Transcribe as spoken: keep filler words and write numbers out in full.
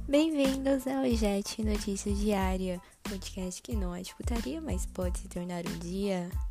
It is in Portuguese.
Bem-vindos ao Jet Notícias Diária, podcast que não é de putaria, mas pode se tornar um dia.